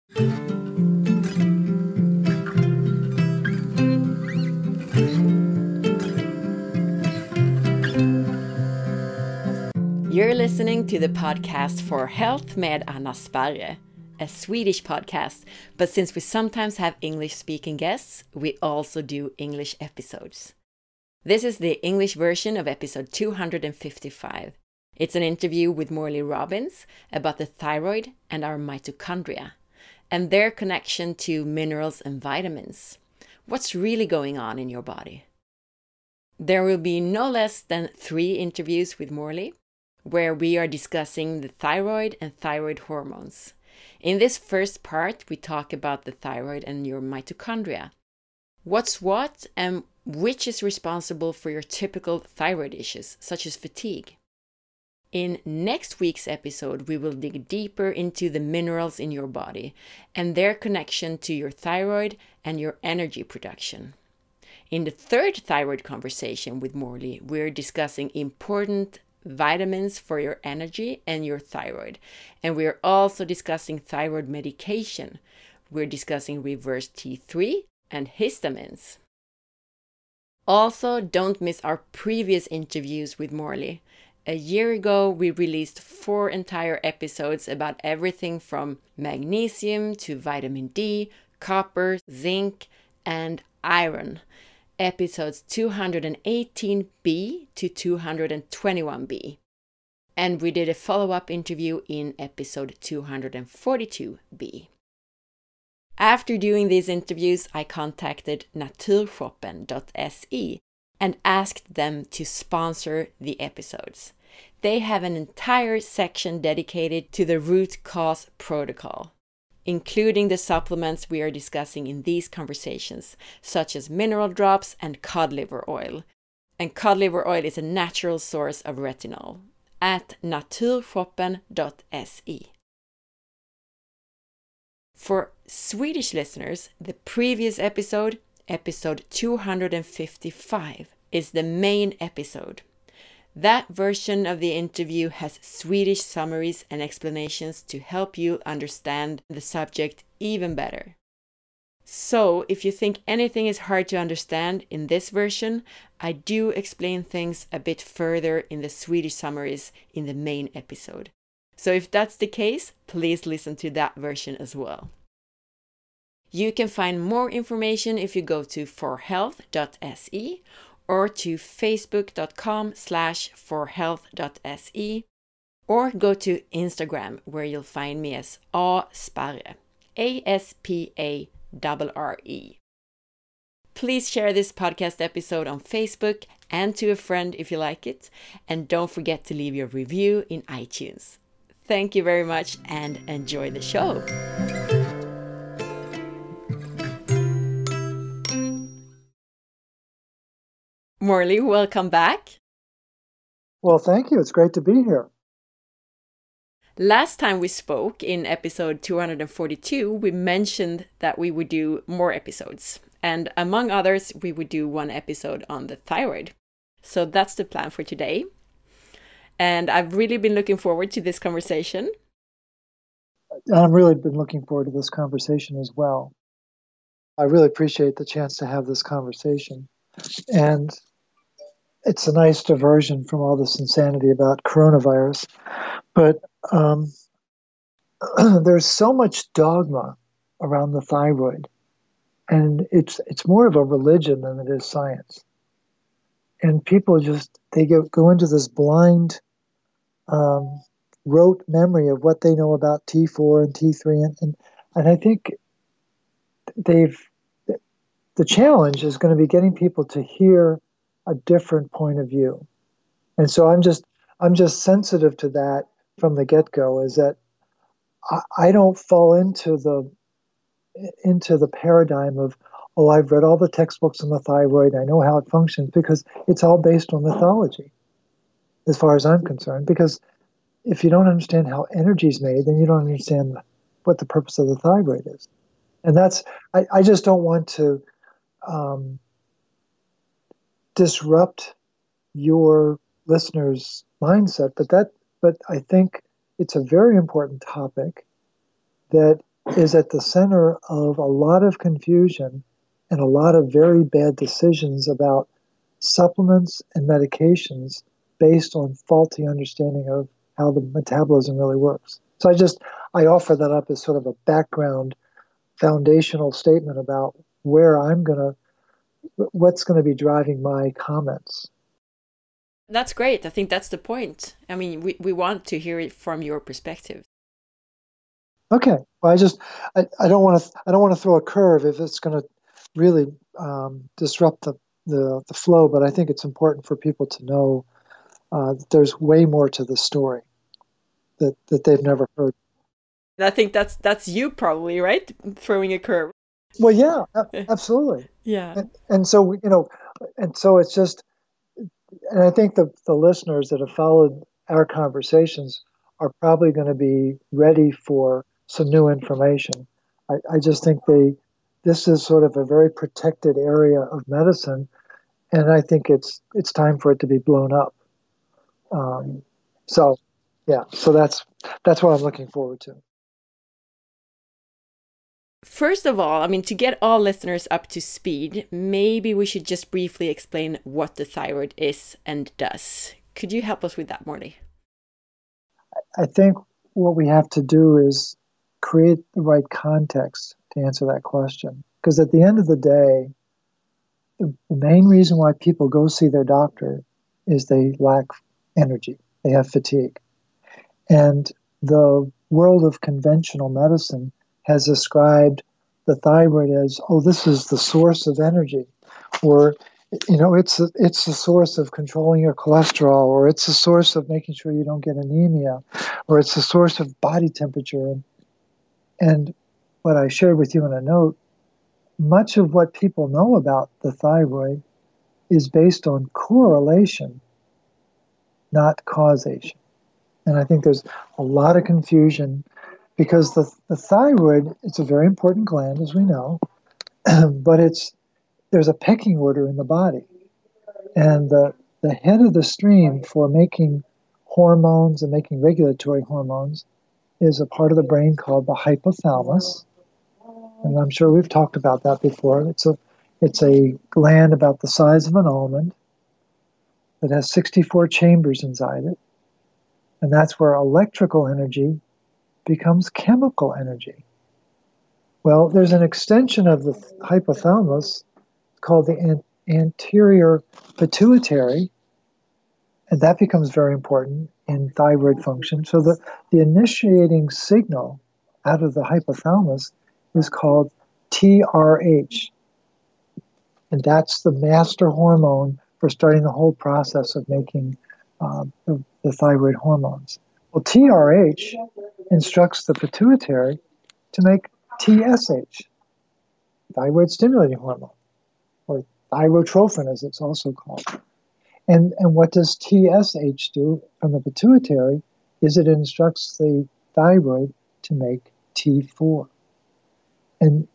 You're listening to the podcast For Health med Anna Sparre, a Swedish podcast, but since we sometimes have English-speaking guests, we also do English episodes. This is the English version of episode 255. It's an interview with Morley Robbins about the thyroid and our mitochondria, and their connection to minerals and vitamins. What's really going on in your body? There will be no less than 3 interviews with Morley, where we are discussing the thyroid and thyroid hormones. In this first part, we talk about the thyroid and your mitochondria. What's what and which is responsible for your typical thyroid issues, such as fatigue. In next week's episode, we will dig deeper into the minerals in your body and their connection to your thyroid and your energy production. In the third thyroid conversation with Morley, we're discussing important vitamins for your energy and your thyroid. And we're also discussing thyroid medication. We're discussing reverse T3 and histamines. Also, don't miss our previous interviews with Morley. A year ago, we released 4 entire episodes about everything from magnesium to vitamin D, copper, zinc, and iron. Episodes 218B to 221B. And we did a follow-up interview in episode 242B. After doing these interviews, I contacted Naturshoppen.se and asked them to sponsor the episodes. They have an entire section dedicated to the root cause protocol, including the supplements we are discussing in these conversations, such as mineral drops and cod liver oil. And cod liver oil is a natural source of retinol at naturshoppen.se. For Swedish listeners, the previous episode, episode 255, is the main episode. That version of the interview has Swedish summaries and explanations to help you understand the subject even better. So, if you think anything is hard to understand in this version, I do explain things a bit further in the Swedish summaries in the main episode. So if that's the case, please listen to that version as well. You can find more information if you go to forhealth.se or to facebook.com/forhealth.se, or go to Instagram, where you'll find me as asparre, ASPARRE. Please share this podcast episode on Facebook and to a friend if you like it, and don't forget to leave your review in iTunes. Thank you very much and enjoy the show. Morley, welcome back. Well, thank you. It's great to be here. Last time we spoke in episode 242, we mentioned that we would do more episodes. And among others, we would do 1 episode on the thyroid. So that's the plan for today. And I've really been looking forward to this conversation. I've really been looking forward to this conversation as well. I really appreciate the chance to have this conversation. And it's a nice diversion from all this insanity about coronavirus. But there's so much dogma around the thyroid. And it's more of a religion than it is science. And people they go into this blind rote memory of what they know about T4 and T3. And I think the challenge is going to be getting people to hear a different point of view. And so I'm just sensitive to that from the get-go, is that I don't fall into the paradigm of, oh, I've read all the textbooks on the thyroid, I know how it functions, because it's all based on mythology, as far as I'm concerned. Because if you don't understand how energy is made, then you don't understand what the purpose of the thyroid is. And I just don't want to disrupt your listeners' mindset, but I think it's a very important topic that is at the center of a lot of confusion and a lot of very bad decisions about supplements and medications based on faulty understanding of how the metabolism really works. So I offer that up as sort of a background foundational statement about what's going to be driving my comments. That's great. I think that's the point. I mean, we want to hear it from your perspective. Okay. Well, I don't want to throw a curve if it's going to really disrupt the flow, but I think it's important for people to know that there's way more to the story that they've never heard. And I think that's you probably, right? Throwing a curve. Well, yeah, absolutely. Yeah. And so, and so it's just, and I think the listeners that have followed our conversations are probably going to be ready for some new information. I just think this is sort of a very protected area of medicine, and I think it's time for it to be blown up. So that's what I'm looking forward to. First of all, I mean, to get all listeners up to speed, maybe we should just briefly explain what the thyroid is and does. Could you help us with that, Morty? I think what we have to do is create the right context to answer that question. Because at the end of the day, the main reason why people go see their doctor is they lack energy. They have fatigue. And the world of conventional medicine has described the thyroid as, oh, this is the source of energy, or it's the source of controlling your cholesterol, or it's the source of making sure you don't get anemia, or it's the source of body temperature. And what I shared with you in a note, much of what people know about the thyroid is based on correlation, not causation. And I think there's a lot of confusion because the thyroid, it's a very important gland, as we know, but there's a pecking order in the body. And the head of the stream for making hormones and making regulatory hormones is a part of the brain called the hypothalamus. And I'm sure we've talked about that before. It's a gland about the size of an almond that has 64 chambers inside it. And that's where electrical energy becomes chemical energy. Well, there's an extension of the hypothalamus called the anterior pituitary, and that becomes very important in thyroid function. So the initiating signal out of the hypothalamus is called TRH, and that's the master hormone for starting the whole process of making the thyroid hormones. Well, TRH instructs the pituitary to make TSH, thyroid stimulating hormone, or thyrotrophin as it's also called. And what does TSH do from the pituitary is it instructs the thyroid to make T4. And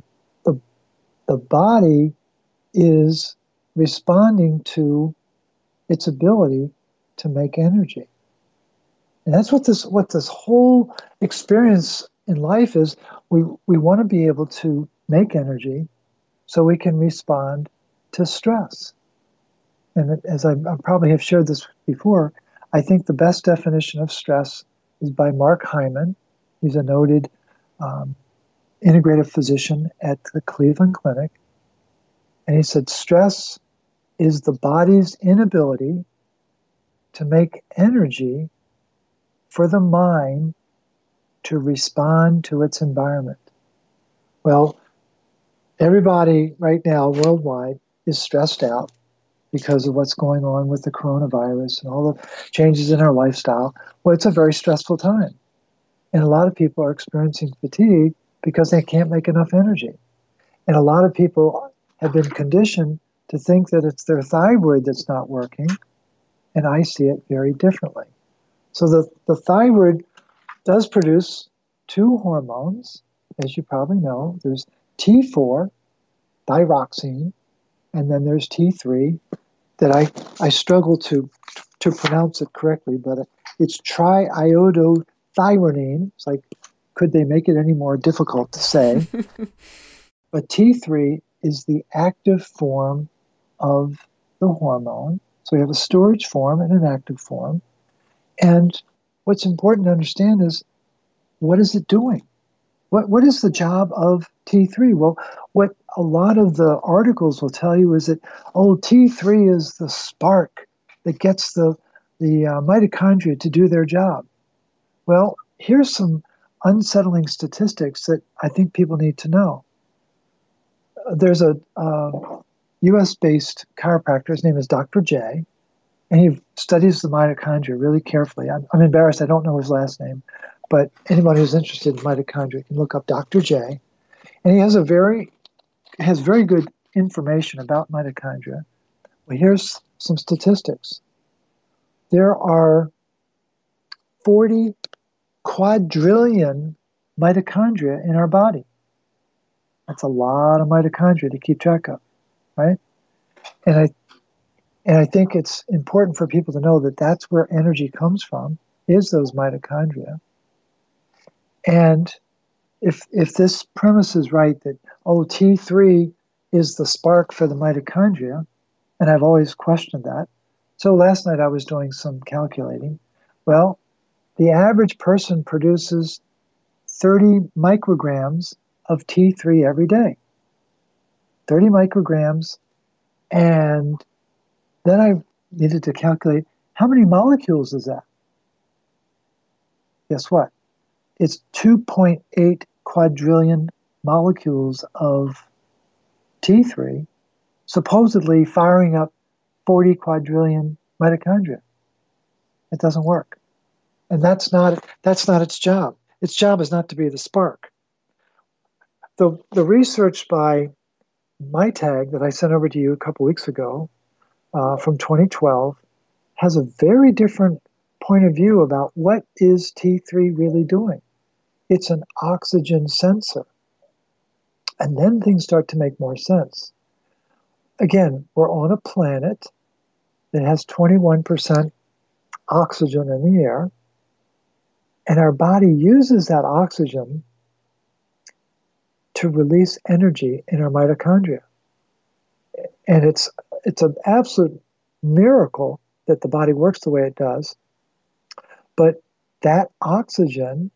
the body is responding to its ability to make energy. And that's what this whole experience in life is. We want to be able to make energy so we can respond to stress. And as I probably have shared this before, I think the best definition of stress is by Mark Hyman. He's a noted integrative physician at the Cleveland Clinic. And he said, stress is the body's inability to make energy for the mind to respond to its environment. Well, everybody right now worldwide is stressed out because of what's going on with the coronavirus and all the changes in our lifestyle. Well, it's a very stressful time. And a lot of people are experiencing fatigue because they can't make enough energy. And a lot of people have been conditioned to think that it's their thyroid that's not working, and I see it very differently. So the thyroid does produce two hormones, as you probably know. There's T4, thyroxine, and then there's T3 that I struggle to pronounce it correctly, but it's triiodothyronine. It's like could they make it any more difficult to say? But T3 is the active form of the hormone. So we have a storage form and an active form. And what's important to understand is, what is it doing? What is the job of T3? Well, what a lot of the articles will tell you is that, T3 is the spark that gets the mitochondria to do their job. Well, here's some unsettling statistics that I think people need to know. There's a US-based chiropractor. His name is Dr. J, and he studies the mitochondria really carefully. I'm embarrassed, I don't know his last name, but anybody who's interested in mitochondria can look up Dr. J. And he has very good information about mitochondria. Well, here's some statistics. There are 40 quadrillion mitochondria in our body. That's a lot of mitochondria to keep track of, right? And I think it's important for people to know that that's where energy comes from, is those mitochondria. And if this premise is right, that, T3 is the spark for the mitochondria, and I've always questioned that. So last night I was doing some calculating. Well, the average person produces 30 micrograms of T3 every day. 30 micrograms. And then I needed to calculate, how many molecules is that? Guess what? It's 2.8 quadrillion molecules of T3, supposedly firing up 40 quadrillion mitochondria. It doesn't work. And that's not its job. Its job is not to be the spark. The research by MyTag that I sent over to you a couple weeks ago, from 2012, has a very different point of view about what is T3 really doing. It's an oxygen sensor. And then things start to make more sense. Again, we're on a planet that has 21% oxygen in the air, and our body uses that oxygen to release energy in our mitochondria. And it's an absolute miracle that the body works the way it does. But that oxygen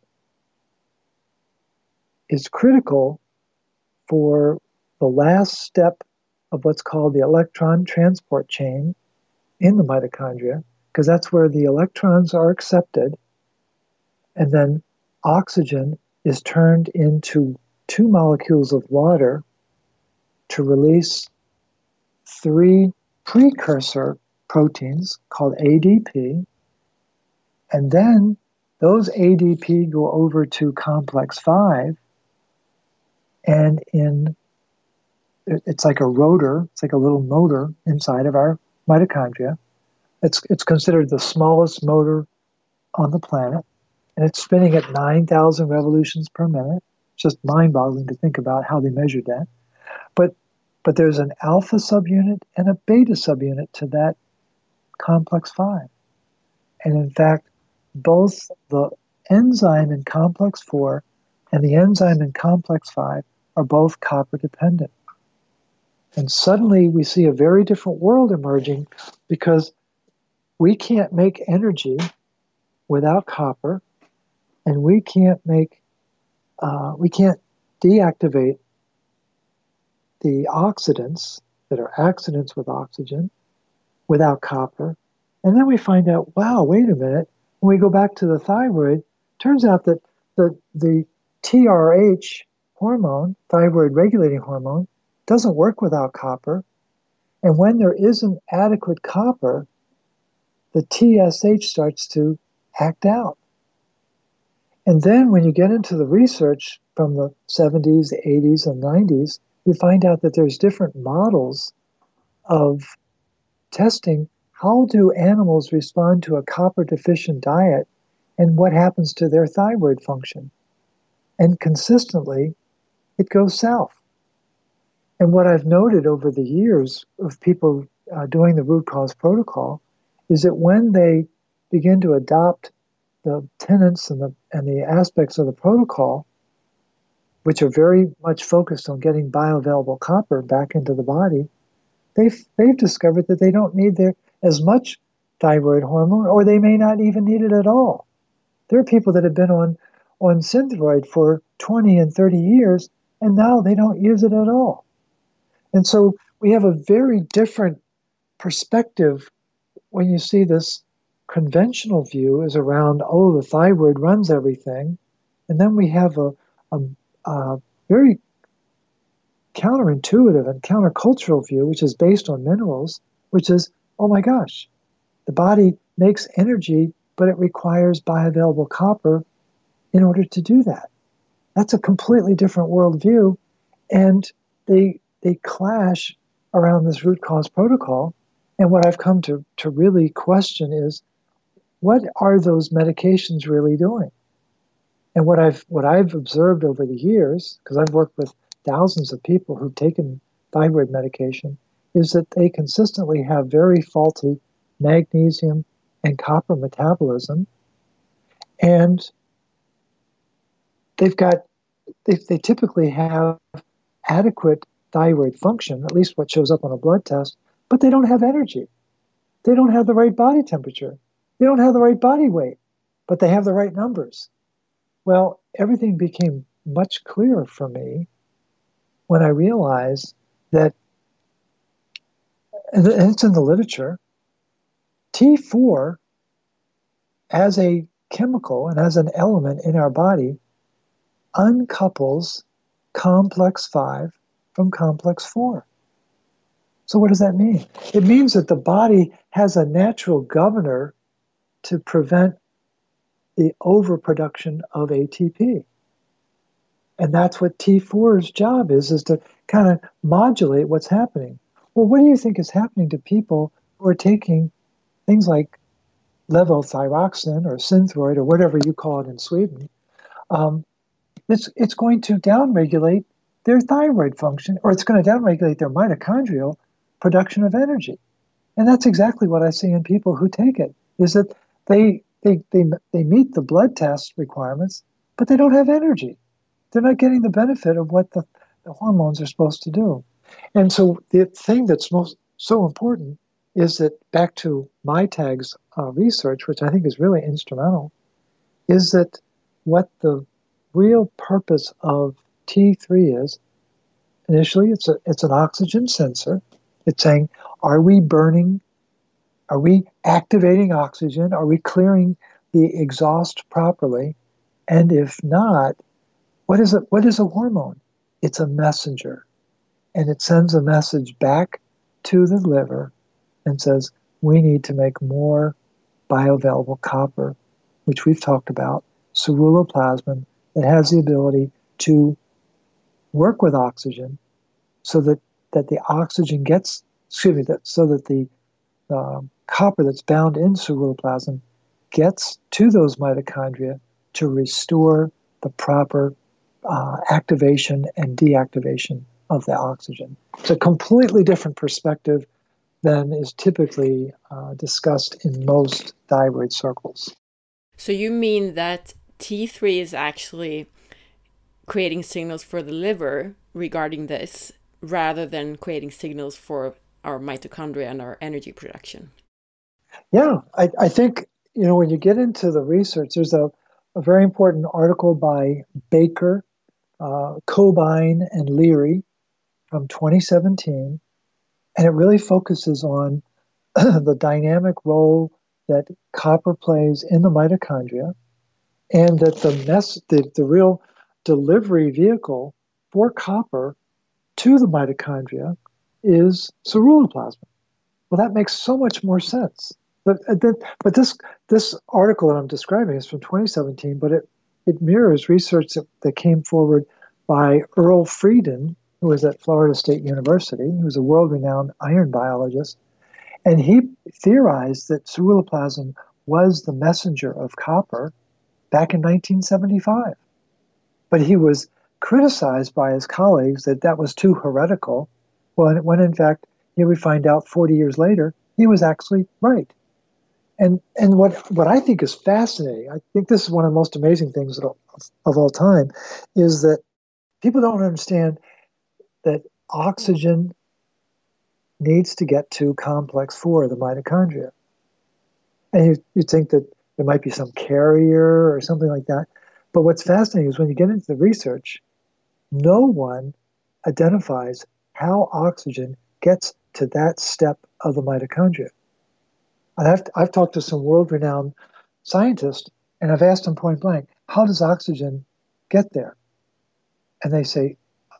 is critical for the last step of what's called the electron transport chain in the mitochondria, because that's where the electrons are accepted, and then oxygen is turned into 2 molecules of water to release 3 precursor proteins called ADP, and then those ADP go over to complex 5, and it's like a rotor, it's like a little motor inside of our mitochondria. It's considered the smallest motor on the planet, and it's spinning at 9,000 revolutions per minute. It's just mind-boggling to think about how they measured that. But there's an alpha subunit and a beta subunit to that complex 5. And in fact, both the enzyme in complex 4 and the enzyme in complex 5 are both copper dependent. And suddenly we see a very different world emerging, because we can't make energy without copper, and we can't deactivate the oxidants that are accidents with oxygen without copper. And then we find out, wow, wait a minute. When we go back to the thyroid, turns out that the TRH hormone, thyroid regulating hormone, doesn't work without copper. And when there isn't adequate copper, the TSH starts to act out. And then when you get into the research from the 70s, the 80s, and 90s, you find out that there's different models of testing how do animals respond to a copper deficient diet and what happens to their thyroid function. And consistently, it goes south. And what I've noted over the years of people doing the root cause protocol is that when they begin to adopt the tenets and and the aspects of the protocol, which are very much focused on getting bioavailable copper back into the body, they've discovered that they don't need as much thyroid hormone, or they may not even need it at all. There are people that have been on Synthroid for 20 and 30 years, and now they don't use it at all. And so we have a very different perspective when you see this conventional view is around, oh, the thyroid runs everything. And then we have a very counterintuitive and countercultural view, which is based on minerals, which is, oh my gosh, the body makes energy, but it requires bioavailable copper in order to do that. That's a completely different worldview, and they clash around this root cause protocol. And what I've come to really question is, what are those medications really doing? And what I've observed over the years, because I've worked with thousands of people who've taken thyroid medication, is that they consistently have very faulty magnesium and copper metabolism, and they typically have adequate thyroid function, at least what shows up on a blood test, but they don't have energy. They don't have the right body temperature. They don't have the right body weight, but they have the right numbers. Well, everything became much clearer for me when I realized that, and it's in the literature, T4 as a chemical and as an element in our body uncouples complex 5 from complex 4. So what does that mean? It means that the body has a natural governor to prevent the overproduction of ATP. And that's what T4's job is to kind of modulate what's happening. Well, what do you think is happening to people who are taking things like levothyroxine or Synthroid or whatever you call it in Sweden? It's going to downregulate their thyroid function, or it's going to downregulate their mitochondrial production of energy. And that's exactly what I see in people who take it, is that they meet the blood test requirements, but they don't have energy. They're not getting the benefit of what the hormones are supposed to do. And so the thing that's so important is that, back to MyTag's research, which I think is really instrumental, is that what the real purpose of T3 is, initially it's an oxygen sensor. It's saying, are we burning? Are we activating oxygen? Are we clearing the exhaust properly? And if not, what is it? What is a hormone? It's a messenger. And it sends a message back to the liver and says, we need to make more bioavailable copper, which we've talked about, ceruloplasmin, that has the ability to work with oxygen so that the oxygen gets, so that the copper that's bound in ceruloplasmin gets to those mitochondria to restore the proper activation and deactivation of the oxygen. It's a completely different perspective than is typically discussed in most thyroid circles. So you mean that T3 is actually creating signals for the liver regarding this, rather than creating signals for our mitochondria and our energy production? Yeah, I think, when you get into the research, there's a very important article by Baker, Cobain, and Leary from 2017, and it really focuses on the dynamic role that copper plays in the mitochondria, and that the real delivery vehicle for copper to the mitochondria is ceruloplasmin. Well, that makes so much more sense. But this article that I'm describing is from 2017, but it mirrors research that came forward by Earl Frieden, who was at Florida State University. He was a world-renowned iron biologist, and he theorized that ceruloplasmin was the messenger of copper back in 1975. But he was criticized by his colleagues that was too heretical, when in fact, here we find out 40 years later, he was actually right. And what I think is fascinating, I think this is one of the most amazing things of all time, is that people don't understand that oxygen needs to get to complex 4, the mitochondria. And you think that there might be some carrier or something like that. But what's fascinating is when you get into the research, no one identifies how oxygen gets to that step of the mitochondria. And I've talked to some world-renowned scientists, and I've asked them point blank, how does oxygen get there? And they say,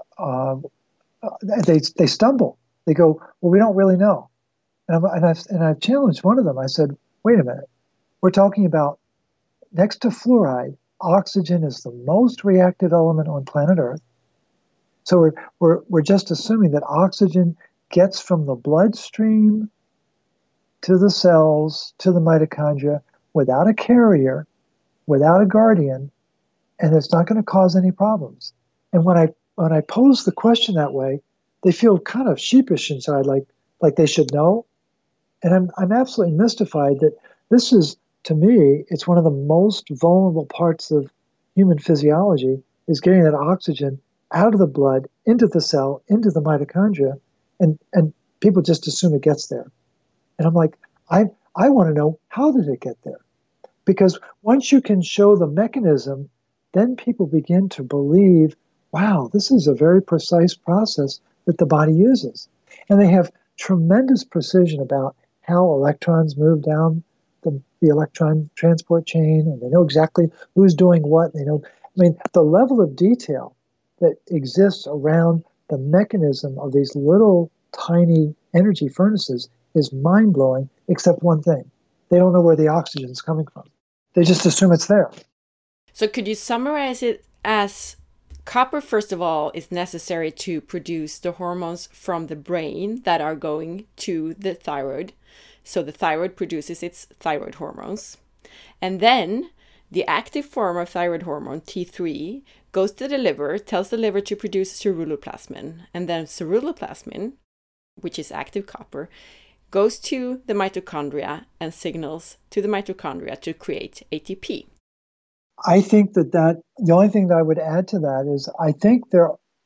they stumble. They go, well, we don't really know. And I've challenged one of them. I said, wait a minute. We're talking about, next to fluoride, oxygen is the most reactive element on planet Earth. So we're just assuming that oxygen gets from the bloodstream to the cells, to the mitochondria, without a carrier, without a guardian, and it's not going to cause any problems. And when I pose the question that way, they feel kind of sheepish inside, like they should know. And I'm absolutely mystified that this is, to me, it's one of the most vulnerable parts of human physiology, is getting that oxygen out of the blood, into the cell, into the mitochondria, and people just assume it gets there. And I'm like, I want to know, how did it get there? Because once you can show the mechanism, then people begin to believe, wow, this is a very precise process that the body uses. And they have tremendous precision about how electrons move down the electron transport chain, and they know exactly who's doing what. The level of detail that exists around the mechanism of these little tiny energy furnaces is mind-blowing, except one thing. They don't know where the oxygen is coming from. They just assume it's there. So could you summarize it as copper, first of all, is necessary to produce the hormones from the brain that are going to the thyroid. So the thyroid produces its thyroid hormones. And then the active form of thyroid hormone, T3, goes to the liver, tells the liver to produce ceruloplasmin. And then ceruloplasmin, which is active copper, goes to the mitochondria and signals to the mitochondria to create ATP. I think that the only thing that I would add to that is, I think there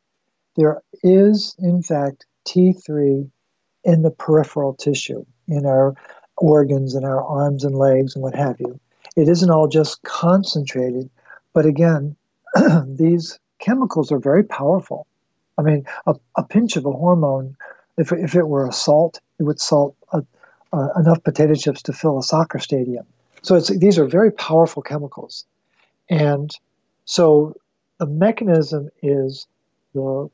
is, in fact, T3 in the peripheral tissue, in our organs, in our arms and legs and what have you. It isn't all just concentrated, but again, these chemicals are very powerful. I mean, a pinch of a hormone, if it were a salt, it would salt enough potato chips to fill a soccer stadium. So these are very powerful chemicals. And so the mechanism is, the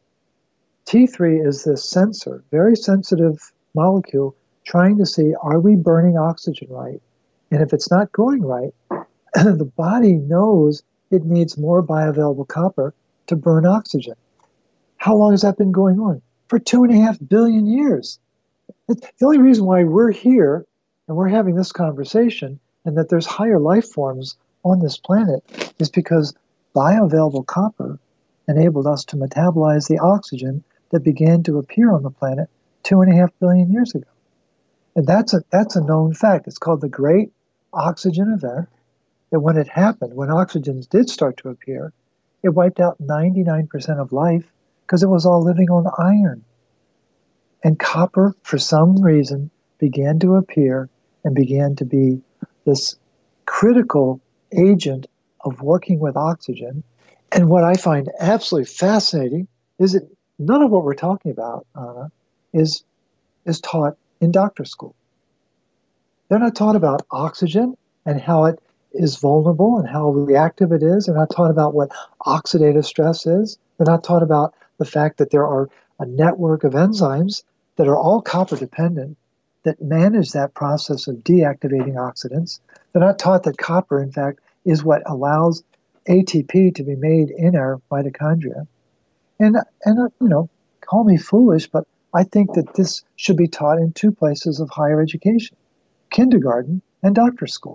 T3 is this sensor, very sensitive molecule, trying to see, are we burning oxygen right? And if it's not going right, the body knows it needs more bioavailable copper to burn oxygen. How long has that been going on? For 2.5 billion years. The only reason why we're here and we're having this conversation, and that there's higher life forms on this planet, is because bioavailable copper enabled us to metabolize the oxygen that began to appear on the planet 2.5 billion years ago. And that's a known fact. It's called the Great Oxygen Event. That when it happened, when oxygen did start to appear, it wiped out 99% of life because it was all living on iron. And copper, for some reason, began to appear and began to be this critical agent of working with oxygen. And what I find absolutely fascinating is that none of what we're talking about, Anna, is taught in doctor school. They're not taught about oxygen and how it is vulnerable and how reactive it is. They're not taught about what oxidative stress is. They're not taught about the fact that there are a network of enzymes that are all copper dependent that manage that process of deactivating oxidants. They're not taught that copper, in fact, is what allows ATP to be made in our mitochondria. And call me foolish, but I think that this should be taught in 2 places of higher education, kindergarten and doctor school.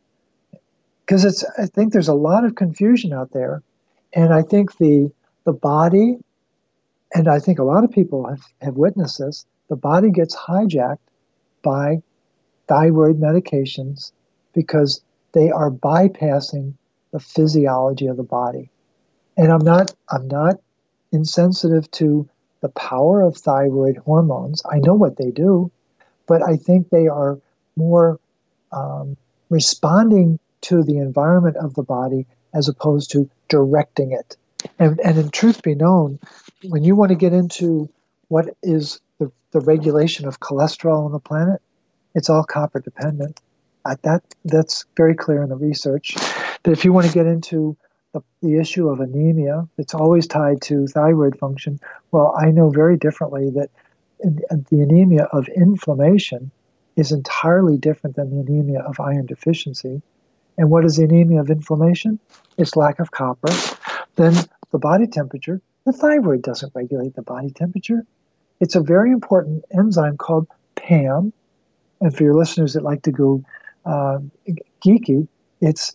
Because I think there's a lot of confusion out there, and I think the body, and I think a lot of people have witnessed this, the body gets hijacked by thyroid medications because they are bypassing the physiology of the body. And I'm not insensitive to the power of thyroid hormones. I know what they do, but I think they are more responding to the environment of the body as opposed to directing it. And in truth be known, when you want to get into what is the regulation of cholesterol on the planet, it's all copper dependent. That's very clear in the research. That if you want to get into the issue of anemia, it's always tied to thyroid function. Well, I know very differently that the anemia of inflammation is entirely different than the anemia of iron deficiency. And what is the anemia of inflammation? It's lack of copper. Then the body temperature, the thyroid doesn't regulate the body temperature. It's a very important enzyme called PAM. And for your listeners that like to go geeky, it's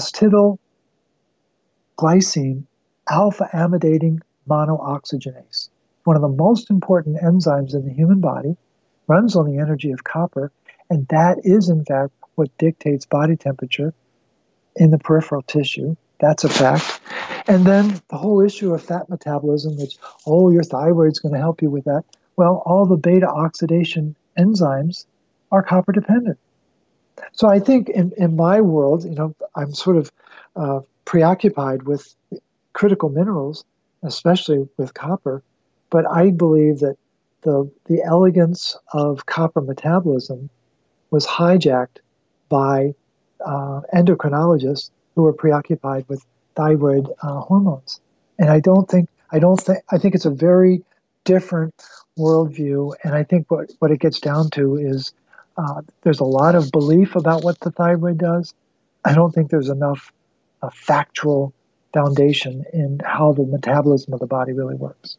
phosphatidyl-glycine alpha-amidating monooxygenase. One of the most important enzymes in the human body, runs on the energy of copper, and that is, in fact, what dictates body temperature in the peripheral tissue. That's a fact. And then the whole issue of fat metabolism, which, your thyroid's going to help you with that. Well, all the beta oxidation enzymes are copper dependent. So I think in my world, I'm sort of preoccupied with critical minerals, especially with copper, but I believe that the elegance of copper metabolism was hijacked by endocrinologists who were preoccupied with thyroid hormones. And I think it's a very different worldview. And I think what it gets down to is there's a lot of belief about what the thyroid does. I don't think there's enough factual foundation in how the metabolism of the body really works.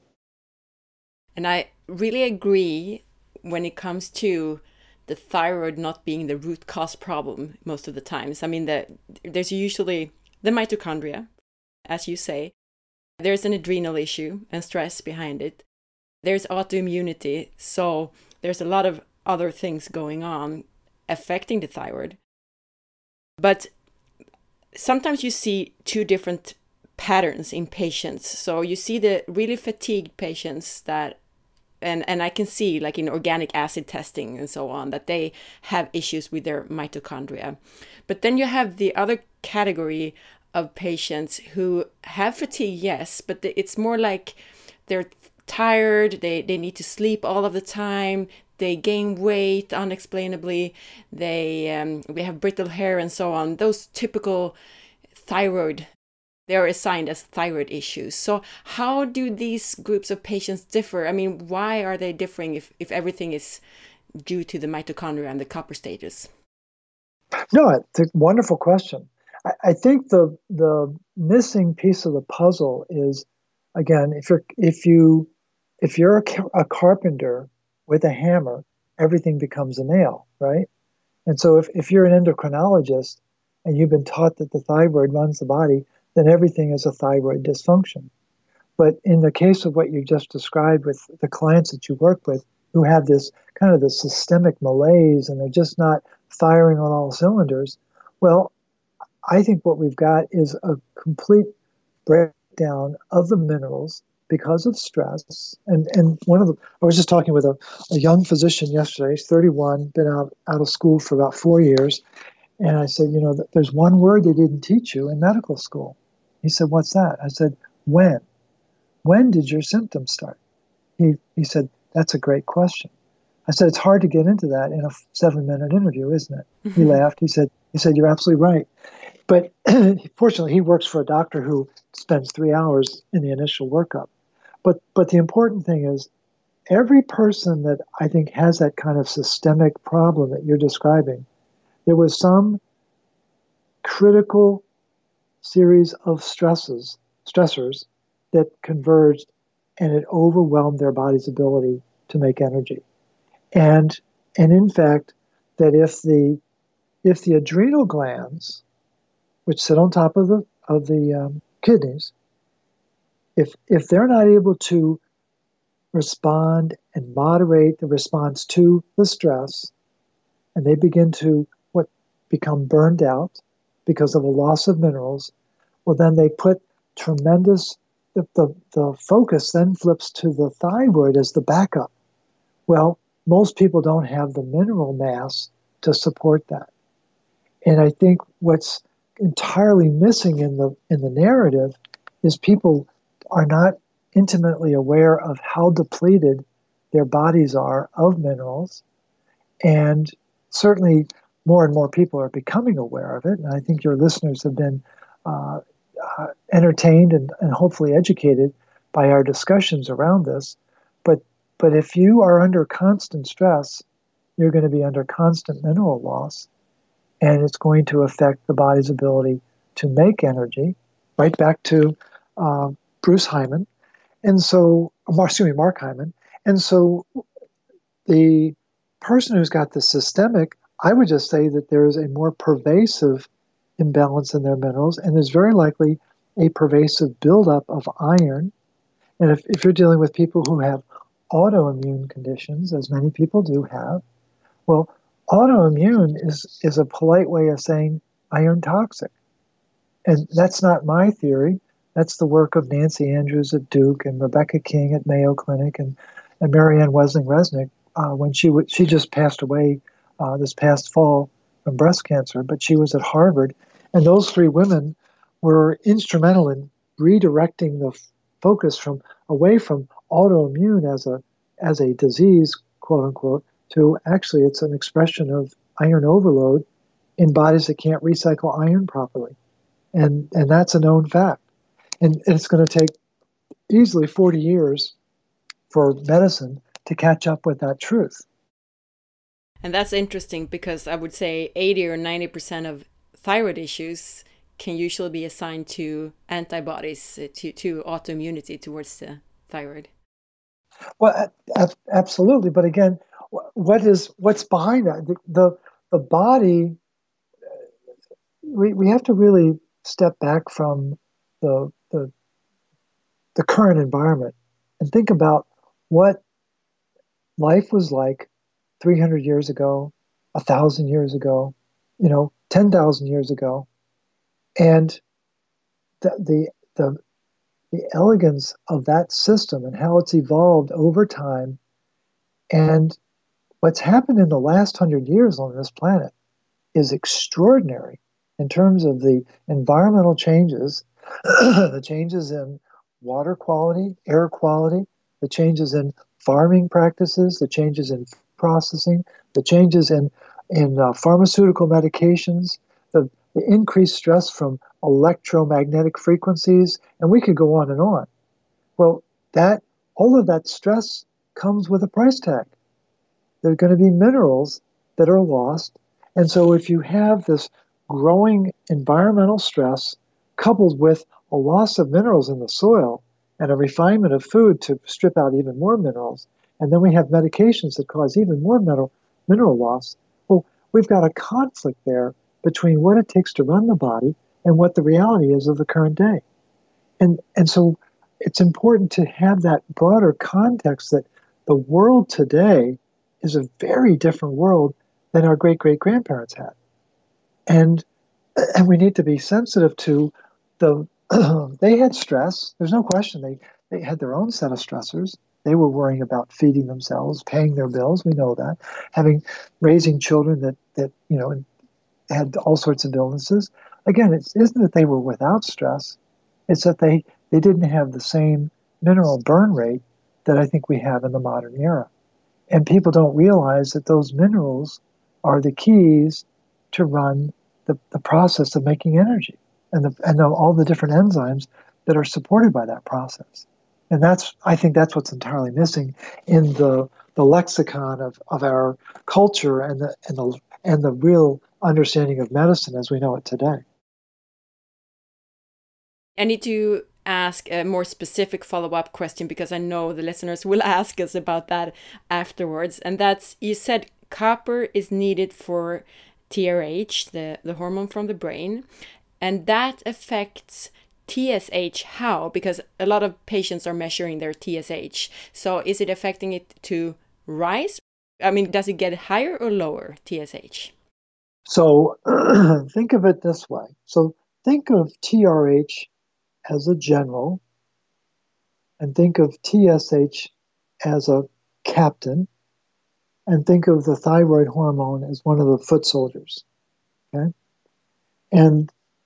And I really agree when it comes to the thyroid not being the root cause problem most of the times. I mean, there's usually the mitochondria, as you say. There's an adrenal issue and stress behind it. There's autoimmunity. So there's a lot of other things going on affecting the thyroid. But sometimes you see two different patterns in patients. So you see the really fatigued patients that, and I can see like in organic acid testing and so on, that they have issues with their mitochondria. But then you have the other category of patients who have fatigue, yes, but it's more like they're tired, they need to sleep all of the time, they gain weight unexplainably, we have brittle hair and so on. Those typical thyroid, they are assigned as thyroid issues. So how do these groups of patients differ? I mean, why are they differing if everything is due to the mitochondria and the copper status? No, it's a wonderful question. I think the missing piece of the puzzle is, again, if you're a carpenter with a hammer, everything becomes a nail, right? And so if you're an endocrinologist and you've been taught that the thyroid runs the body, then everything is a thyroid dysfunction. But in the case of what you just described with the clients that you work with who have this kind of the systemic malaise and they're just not firing on all cylinders, well, I think what we've got is a complete breakdown of the minerals because of stress. And I was just talking with a young physician yesterday. He's 31, been out of school for about 4 years. And I said, there's one word they didn't teach you in medical school. He said, what's that? I said, when? When did your symptoms start? He said, that's a great question. I said, it's hard to get into that in a 7-minute interview, isn't it? He laughed. He said, you're absolutely right. But fortunately, he works for a doctor who spends 3 hours in the initial workup. But the important thing is, every person that I think has that kind of systemic problem that you're describing, there was some critical series of stressors that converged, and it overwhelmed their body's ability to make energy. And in fact, that if the adrenal glands, which sit on top of the kidneys, if they're not able to respond and moderate the response to the stress, and they begin to become burned out because of a loss of minerals, well, then they put tremendous, the focus then flips to the thyroid as the backup. Well, most people don't have the mineral mass to support that. And I think what's entirely missing in the narrative is people are not intimately aware of how depleted their bodies are of minerals. And certainly more and more people are becoming aware of it. And I think your listeners have been entertained and hopefully educated by our discussions around this. But if you are under constant stress, you're going to be under constant mineral loss, and it's going to affect the body's ability to make energy. Right back to Bruce Hyman, Mark Hyman. And so the person who's got the systemic, I would just say that there is a more pervasive imbalance in their minerals, and there's very likely a pervasive buildup of iron. And if you're dealing with people who have autoimmune conditions, as many people do have, well, autoimmune is a polite way of saying iron toxic. And that's not my theory. That's the work of Nancy Andrews at Duke and Rebecca King at Mayo Clinic and Marianne Wesling-Resnick when she just passed away this past fall from breast cancer, but she was at Harvard. And those three women were instrumental in redirecting the focus away from autoimmune as a disease, quote unquote, to actually it's an expression of iron overload in bodies that can't recycle iron properly. And that's a known fact. And it's going to take easily 40 years for medicine to catch up with that truth. And that's interesting because I would say 80 or 90% of thyroid issues can usually be assigned to antibodies, to autoimmunity towards the thyroid. Well, absolutely. But again, what's behind that? The body, we have to really step back from the current environment and think about what life was like 300 years ago, 1,000 years ago, 10,000 years ago, and the elegance of that system and how it's evolved over time, and what's happened in the last 100 years on this planet is extraordinary in terms of the environmental changes, the changes in water quality, air quality, the changes in farming practices, the changes in processing, the changes in pharmaceutical medications, the increased stress from electromagnetic frequencies, and we could go on and on. Well, all of that stress comes with a price tag. There are going to be minerals that are lost. And so if you have this growing environmental stress coupled with a loss of minerals in the soil and a refinement of food to strip out even more minerals, and then we have medications that cause even more mineral loss, well, we've got a conflict there between what it takes to run the body and what the reality is of the current day. And so it's important to have that broader context that the world today is a very different world than our great-great-grandparents had. And we need to be sensitive to they had stress. There's no question. They had their own set of stressors. They were worrying about feeding themselves, paying their bills. We know that. Raising children that had all sorts of illnesses. Again, it isn't that they were without stress. It's that they didn't have the same mineral burn rate that I think we have in the modern era. And people don't realize that those minerals are the keys to run the process of making energy and all the different enzymes that are supported by that process. And I think that's what's entirely missing in the lexicon of our culture and the real understanding of medicine as we know it today. I need to ask a more specific follow-up question because I know the listeners will ask us about that afterwards. And that's, you said copper is needed for TRH, the hormone from the brain, and that affects TSH. How? Because a lot of patients are measuring their TSH. So is it affecting it to rise? I mean, does it get higher or lower, TSH? So think of it this way. So think of TRH as a general, and think of TSH as a captain, and think of the thyroid hormone as one of the foot soldiers. Okay? And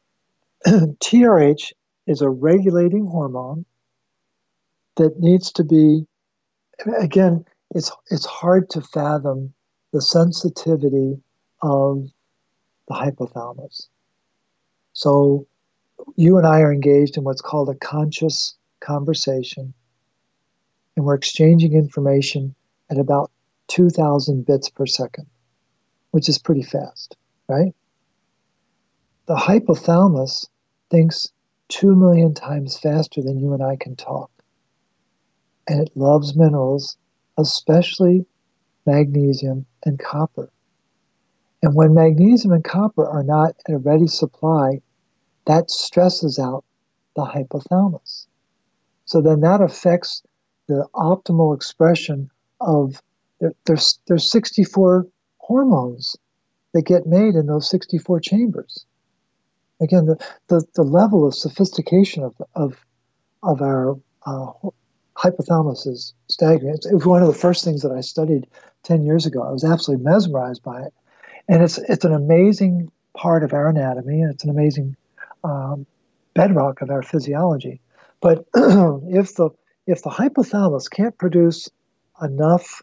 TRH is a regulating hormone that needs to be, again, it's hard to fathom the sensitivity of the hypothalamus. So you and I are engaged in what's called a conscious conversation, and we're exchanging information at about 2,000 bits per second, which is pretty fast, right? The hypothalamus thinks 2 million times faster than you and I can talk. And it loves minerals, especially magnesium and copper. And when magnesium and copper are not at a ready supply, that stresses out the hypothalamus. So then that affects the optimal expression of, there's 64 hormones that get made in those 64 chambers. Again, the level of sophistication of our hypothalamus is staggering. It was one of the first things that I studied 10 years ago. I was absolutely mesmerized by it. And it's an amazing part of our anatomy, and it's an amazing bedrock of our physiology. But if the hypothalamus can't produce enough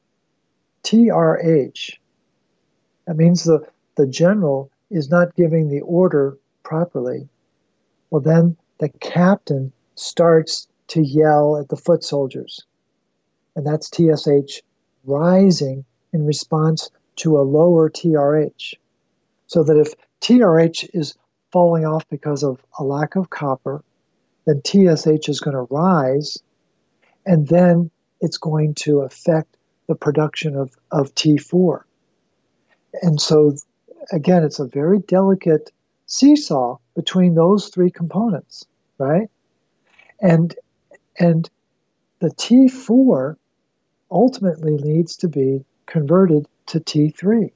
TRH, that means the general is not giving the order properly. Well, then the captain starts to yell at the foot soldiers. And that's TSH rising in response to a lower TRH. So that if TRH is falling off because of a lack of copper, then TSH is going to rise, and then it's going to affect the production of T4. And so, again, it's a very delicate seesaw between those three components, right? And the T4 ultimately needs to be converted to T3.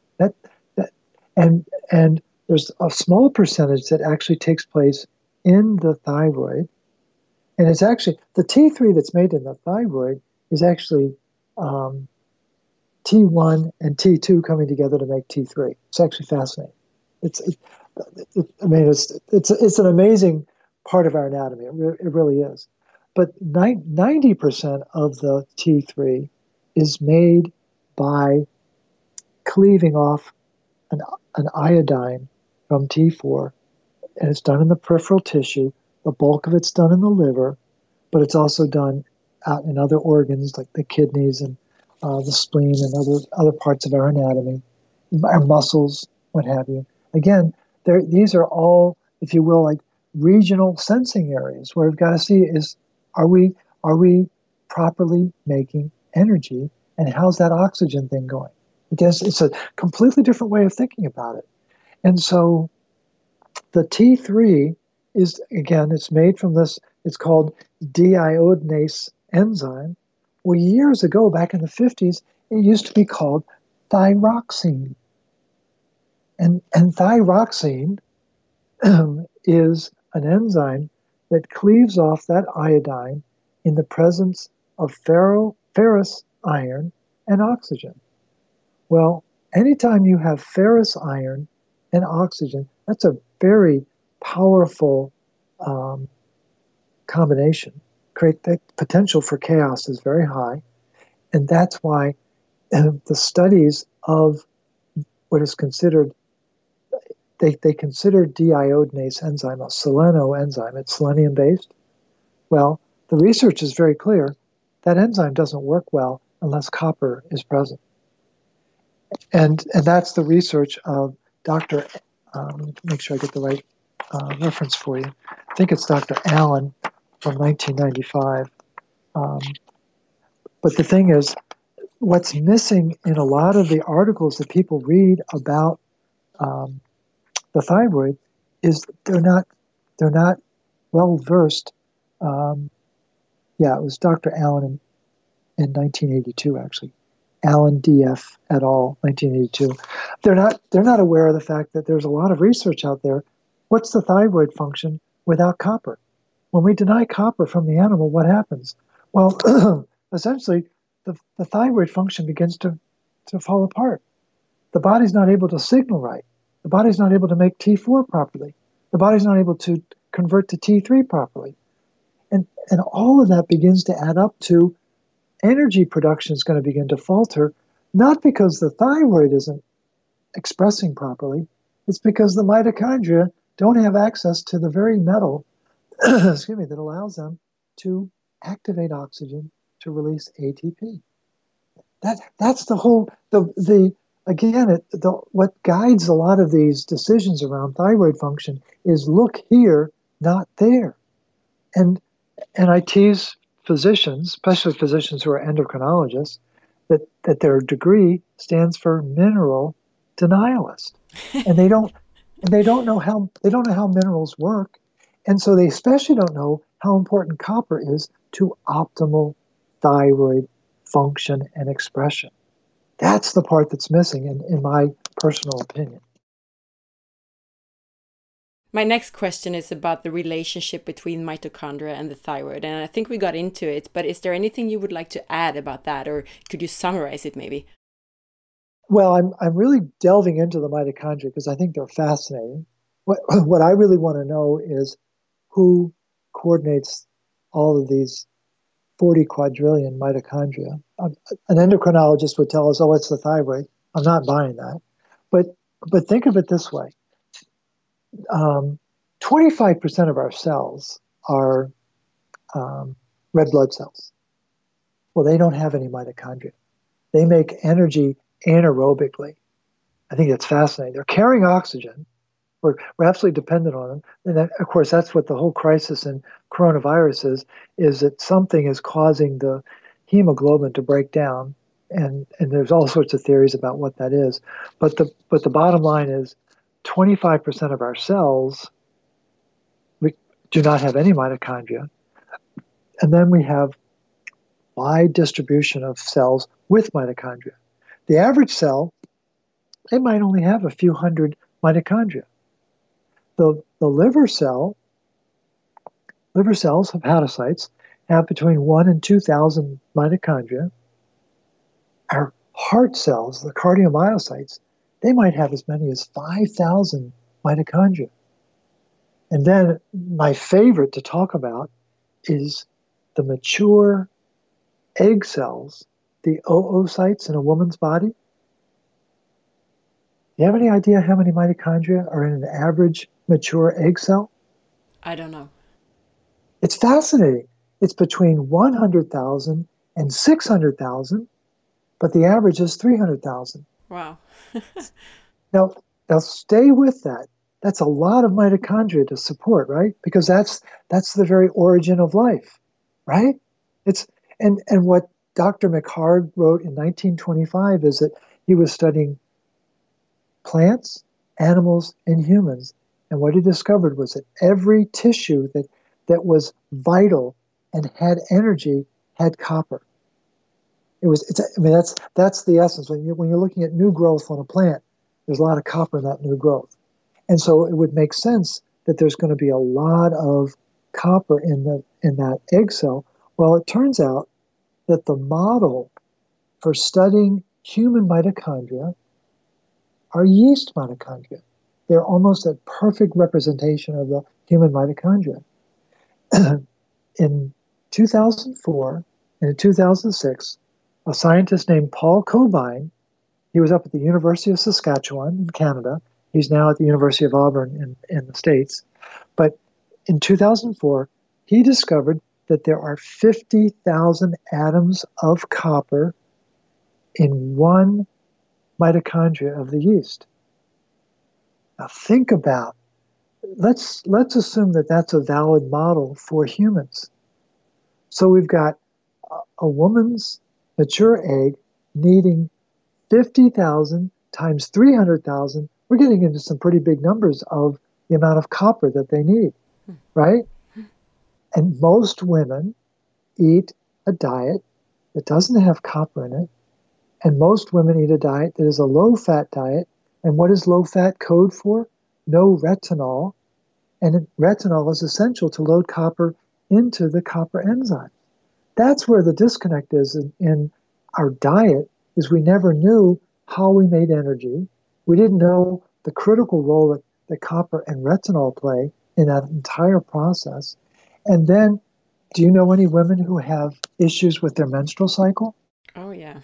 And there's a small percentage that actually takes place in the thyroid. And it's actually, the T3 that's made in the thyroid is actually T1 and T2 coming together to make T3. It's actually fascinating. It's an amazing part of our anatomy. It really is. But 90% of the T3 is made by cleaving off an iodine from T4, and it's done in the peripheral tissue. The bulk of it's done in the liver, but it's also done out in other organs like the kidneys and the spleen and other parts of our anatomy, our muscles, what have you. Again, these are all, if you will, like regional sensing areas where we've got to see is, are we properly making energy, and how's that oxygen thing going? Because it's a completely different way of thinking about it. And so the T3 is, again, it's made from this, it's called deiodinase enzyme. Well, years ago, back in the 50s, it used to be called thyroxine. And thyroxine is an enzyme that cleaves off that iodine in the presence of ferrous iron and oxygen. Well, anytime you have ferrous iron and oxygen, that's a very powerful combination. The potential for chaos is very high, and that's why the studies of what is considered, they consider deiodinase enzyme a seleno enzyme. It's selenium based. Well, the research is very clear. That enzyme doesn't work well unless copper is present. And that's the research of Dr. Make sure I get the right reference for you. I think it's Dr. Allen from 1995. But the thing is, what's missing in a lot of the articles that people read about the thyroid is they're not well versed. It was Dr. Allen in 1982 actually. Alan D.F. et al., 1982. They're not aware of the fact that there's a lot of research out there. What's the thyroid function without copper? When we deny copper from the animal, what happens? Well, essentially, the thyroid function begins to fall apart. The body's not able to signal right. The body's not able to make T4 properly. The body's not able to convert to T3 properly. And all of that begins to add up to energy production is going to begin to falter, not because the thyroid isn't expressing properly, it's because the mitochondria don't have access to the very metal excuse me, that allows them to activate oxygen to release ATP. That's the whole what guides a lot of these decisions around thyroid function is look here, not there. And I tease physicians, especially physicians who are endocrinologists, that their degree stands for mineral denialist, and they don't know how minerals work, and so they especially don't know how important copper is to optimal thyroid function and expression. That's the part that's missing, in my personal opinion. My next question is about the relationship between mitochondria and the thyroid. And I think we got into it, but is there anything you would like to add about that, or could you summarize it maybe? Well, I'm really delving into the mitochondria because I think they're fascinating. What I really want to know is who coordinates all of these 40 quadrillion mitochondria. An endocrinologist would tell us, oh, it's the thyroid. I'm not buying that. But think of it this way. 25% of our cells are red blood cells. Well, they don't have any mitochondria. They make energy anaerobically. I think that's fascinating. They're carrying oxygen. We're absolutely dependent on them. And that, of course, that's what the whole crisis in coronavirus is that something is causing the hemoglobin to break down. And there's all sorts of theories about what that is. But the bottom line is 25% of our cells do not have any mitochondria. And then we have wide distribution of cells with mitochondria. The average cell, they might only have a few hundred mitochondria. The liver cells, hepatocytes, have between 1 and 2,000 mitochondria. Our heart cells, the cardiomyocytes, they might have as many as 5,000 mitochondria. And then my favorite to talk about is the mature egg cells, the oocytes in a woman's body. Do you have any idea how many mitochondria are in an average mature egg cell? I don't know. It's fascinating. It's between 100,000 and 600,000, but the average is 300,000. Wow. Now stay with that. That's a lot of mitochondria to support, right? Because that's the very origin of life, right? And what Dr. McHarg wrote in 1925 is that he was studying plants, animals, and humans. And what he discovered was that every tissue that was vital and had energy had copper. That's the essence. When you're looking at new growth on a plant, there's a lot of copper in that new growth. And so it would make sense that there's going to be a lot of copper in that egg cell. Well, it turns out that the model for studying human mitochondria are yeast mitochondria. They're almost a perfect representation of the human mitochondria. In 2004 and in 2006, a scientist named Paul Kovine, he was up at the University of Saskatchewan in Canada. He's now at the University of Auburn in the States. But in 2004, he discovered that there are 50,000 atoms of copper in one mitochondria of the yeast. Now think about, let's assume that that's a valid model for humans. So we've got a woman's mature egg needing 50,000 times 300,000. We're getting into some pretty big numbers of the amount of copper that they need, right? And most women eat a diet that doesn't have copper in it, And most women eat a diet that is a low-fat diet. And what does low-fat code for? No retinol. And retinol is essential to load copper into the copper enzyme. That's where the disconnect is in our diet, is we never knew how we made energy. We didn't know the critical role that copper and retinol play in that entire process. And then, do you know any women who have issues with their menstrual cycle? Oh, yeah.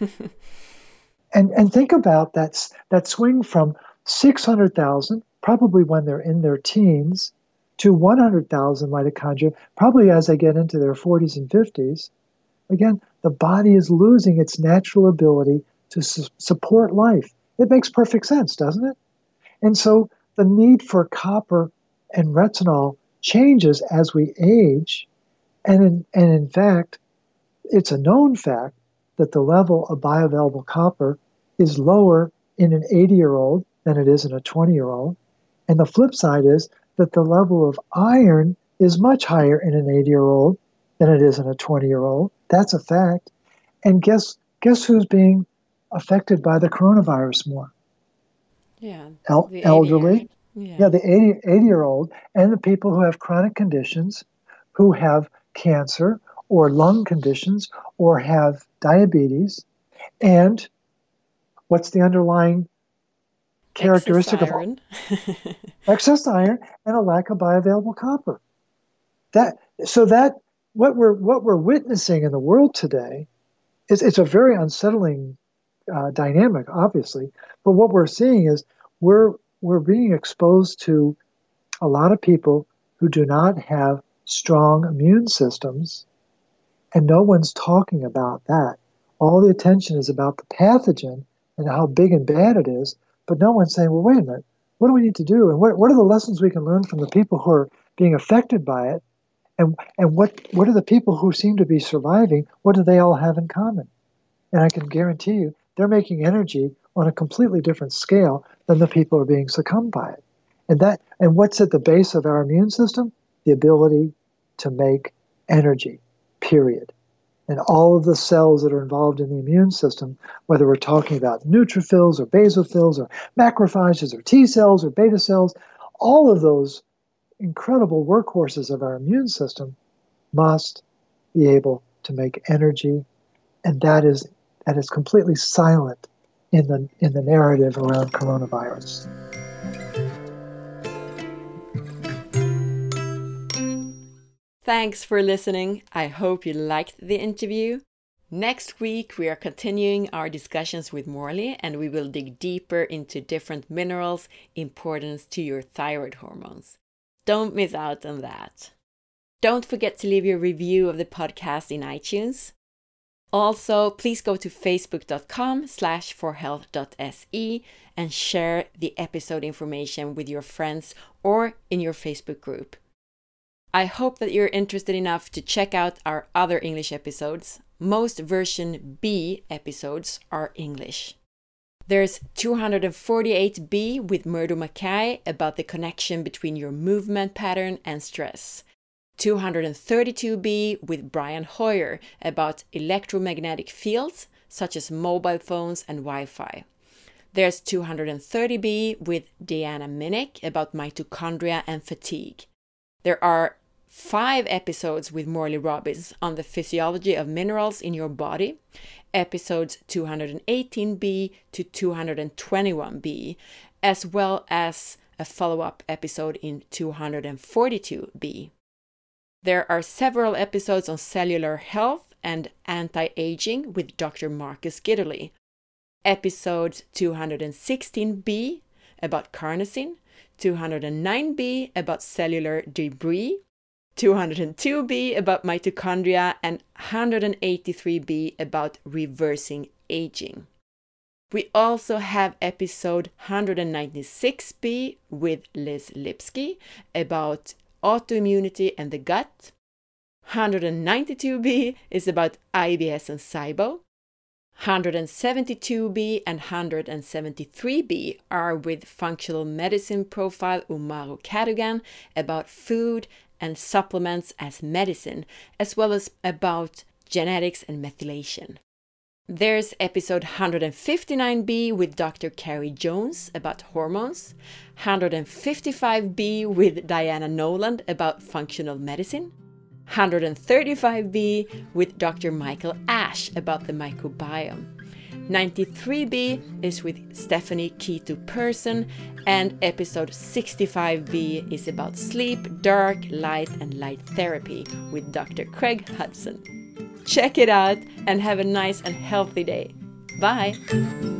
And think about that swing from 600,000, probably when they're in their teens, to 100,000 mitochondria, probably as they get into their 40s and 50s. Again, the body is losing its natural ability to support life. It makes perfect sense, doesn't it? And so the need for copper and retinol changes as we age. And in fact, it's a known fact that the level of bioavailable copper is lower in an 80-year-old than it is in a 20-year-old. And the flip side is that the level of iron is much higher in an 80-year-old than it is in a 20-year-old. That's a fact. And guess who's being affected by the coronavirus more? Yeah. Elderly. Yeah. The 80-year-old and the people who have chronic conditions, who have cancer or lung conditions or have diabetes. And what's the underlying characteristic Excess iron. Excess iron and a lack of bioavailable copper? What we're witnessing in the world today is it's a very unsettling dynamic, obviously. But what we're seeing is we're being exposed to a lot of people who do not have strong immune systems, and no one's talking about that. All the attention is about the pathogen and how big and bad it is, but no one's saying, well, wait a minute, what do we need to do? And what are the lessons we can learn from the people who are being affected by it? And what are the people who seem to be surviving, what do they all have in common? And I can guarantee you, they're making energy on a completely different scale than the people who are being succumbed by it. And what's at the base of our immune system? The ability to make energy, period. And all of the cells that are involved in the immune system, whether we're talking about neutrophils or basophils or macrophages or T cells or beta cells, all of those incredible workhorses of our immune system must be able to make energy, and that is completely silent in the narrative around coronavirus. Thanks for listening. I hope you liked the interview. Next week, we are continuing our discussions with Morley, and we will dig deeper into different minerals' importance to your thyroid hormones. Don't miss out on that. Don't forget to leave your review of the podcast in iTunes. Also, please go to facebook.com/forhealth.se and share the episode information with your friends or in your Facebook group. I hope that you're interested enough to check out our other English episodes. Most version B episodes are English. There's 248B with Murdo Mackay about the connection between your movement pattern and stress. 232B with Brian Hoyer about electromagnetic fields such as mobile phones and Wi-Fi. There's 230B with Deanna Minnick about mitochondria and fatigue. There are 5 episodes with Morley Robbins on the physiology of minerals in your body, episodes 218B to 221B, as well as a follow-up episode in 242B. There are several episodes on cellular health and anti-aging with Dr. Marcus Gitterly, episode 216B about carnosine, 209B about cellular debris, 202B about mitochondria, and 183B about reversing aging. We also have episode 196B with Liz Lipsky about autoimmunity and the gut. 192B is about IBS and SIBO. 172B and 173B are with functional medicine profile Umaru Cadogan about food and supplements as medicine, as well as about genetics and methylation. There's episode 159B with Dr. Carrie Jones about hormones, 155B with Diana Noland about functional medicine, 135B with Dr. Michael Ash about the microbiome. 93B is with Stephanie Keto Person, and episode 65B is about sleep, dark, light, and light therapy with Dr. Craig Hudson. Check it out and have a nice and healthy day. Bye!